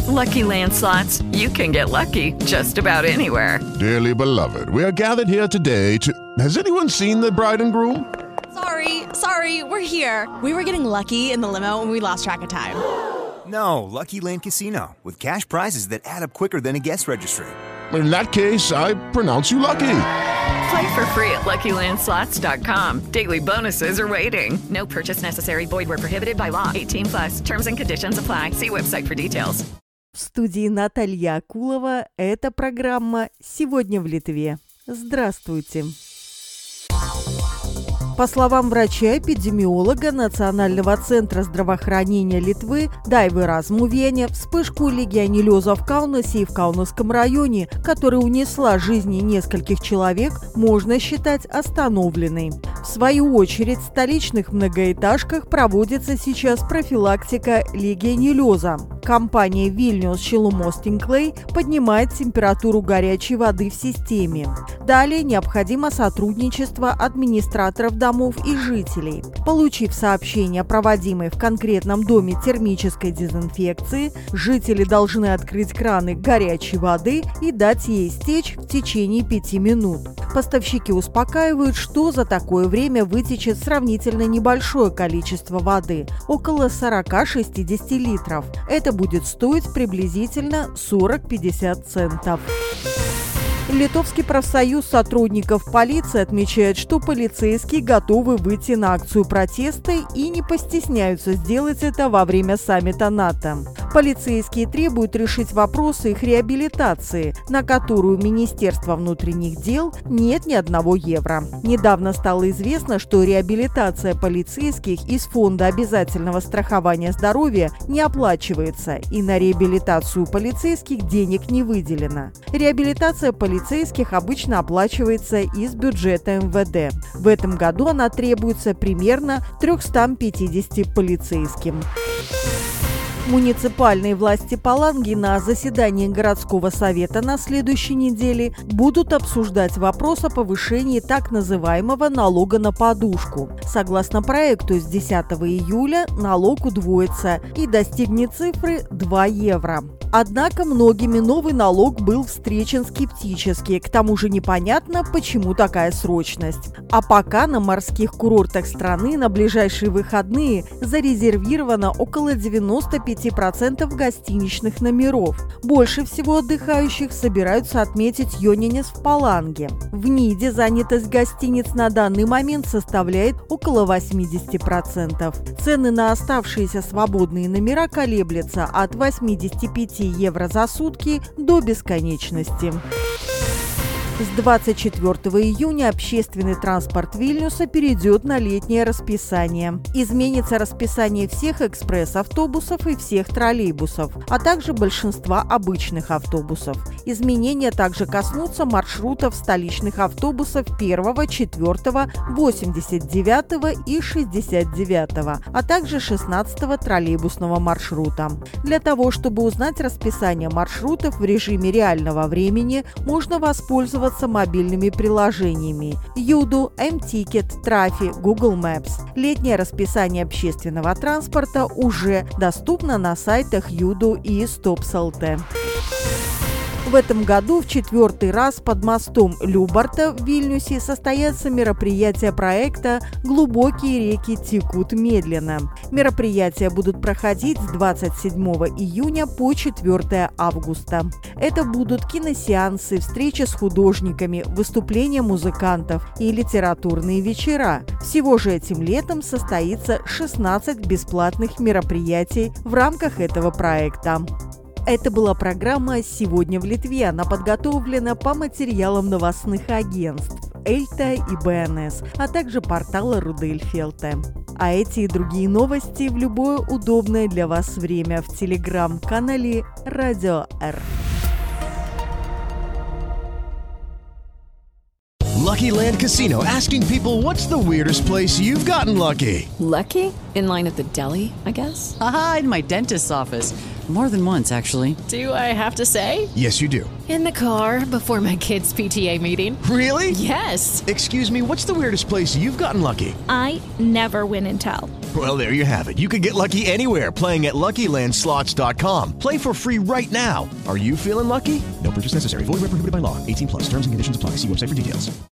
Lucky Land Slots, you can get lucky just about anywhere. Dearly beloved, we are gathered here today to... Has anyone seen the bride and groom? Sorry, we're here. We were getting lucky in the limo and we lost track of time. No, Lucky Land Casino, with cash prizes that add up quicker than a guest registry. In that case, I pronounce you lucky. Play for free at LuckyLandSlots.com. Daily bonuses are waiting. No purchase necessary. Void where prohibited by law. 18+. Terms and conditions apply. See website for details. В студии Наталья Акулова. Это программа «Сегодня в Литве». Здравствуйте. По словам врача-эпидемиолога Национального центра здравоохранения Литвы Дайвы Размувене, вспышку легионеллеза в Каунасе и в Каунасском районе, которая унесла жизни нескольких человек, можно считать остановленной. В свою очередь, в столичных многоэтажках проводится сейчас профилактика легионеллеза. Компания Vilnius Šilumos tinklai поднимает температуру горячей воды в системе. Далее необходимо сотрудничество администраторов домов и жителей. Получив сообщение о проводимой в конкретном доме термической дезинфекции, жители должны открыть краны горячей воды и дать ей истечь в течение 5 минут. Поставщики успокаивают, что за такое время вытечет сравнительно небольшое количество воды – около 40-60 литров. Это будет стоить приблизительно 40-50 центов. Литовский профсоюз сотрудников полиции отмечает, что полицейские готовы выйти на акцию протеста и не постесняются сделать это во время саммита НАТО. Полицейские требуют решить вопросы их реабилитации, на которую у Министерства внутренних дел нет ни одного евро. Недавно стало известно, что реабилитация полицейских из Фонда обязательного страхования здоровья не оплачивается, и на реабилитацию полицейских денег не выделено. Реабилитация полицейских обычно оплачивается из бюджета МВД. В этом году она требуется примерно 350 полицейским. Муниципальные власти Паланги на заседании городского совета на следующей неделе будут обсуждать вопрос о повышении так называемого налога на подушку. Согласно проекту, с 10 июля налог удвоится и достигнет цифры 2 евро. Однако многими новый налог был встречен скептически, к тому же непонятно, почему такая срочность. А пока на морских курортах страны на ближайшие выходные зарезервировано около 95% гостиничных номеров. Больше всего отдыхающих собираются отметить Йонинес в Паланге. В Ниде занятость гостиниц на данный момент составляет около 80%. Цены на оставшиеся свободные номера колеблются от 85 евро за сутки до бесконечности. С 24 июня общественный транспорт Вильнюса перейдет на летнее расписание. Изменится расписание всех экспресс-автобусов и всех троллейбусов, а также большинства обычных автобусов. Изменения также коснутся маршрутов столичных автобусов 1, 4, 89 и 69, а также 16 троллейбусного маршрута. Для того, чтобы узнать расписание маршрутов в режиме реального времени, можно воспользоваться мобильными приложениями Юду, М-Тикет, Трафи, Google Maps. Летнее расписание общественного транспорта уже доступно на сайтах Юду и Stops.lt. В этом году в 4-й раз под мостом Любарта в Вильнюсе состоятся мероприятия проекта «Глубокие реки текут медленно». Мероприятия будут проходить с 27 июня по 4 августа. Это будут киносеансы, встречи с художниками, выступления музыкантов и литературные вечера. Всего же этим летом состоится 16 бесплатных мероприятий в рамках этого проекта. Это была программа «Сегодня в Литве». Она подготовлена по материалам новостных агентств Эльта и БНС, а также портала Рудельфелте. А эти и другие новости в любое удобное для вас время в телеграм-канале Радио Р. Lucky Land Casino, asking people, what's the weirdest place you've gotten lucky? Lucky? In line at the deli, I guess? Aha, in my dentist's office. More than once, actually. Do I have to say? Yes, you do. In the car before my kids' PTA meeting. Really? Yes. Excuse me, what's the weirdest place you've gotten lucky? I never win and tell. Well, there you have it. You can get lucky anywhere, playing at LuckyLandSlots.com. Play for free right now. Are you feeling lucky? No purchase necessary. Void where prohibited by law. 18+. Terms and conditions apply. See website for details.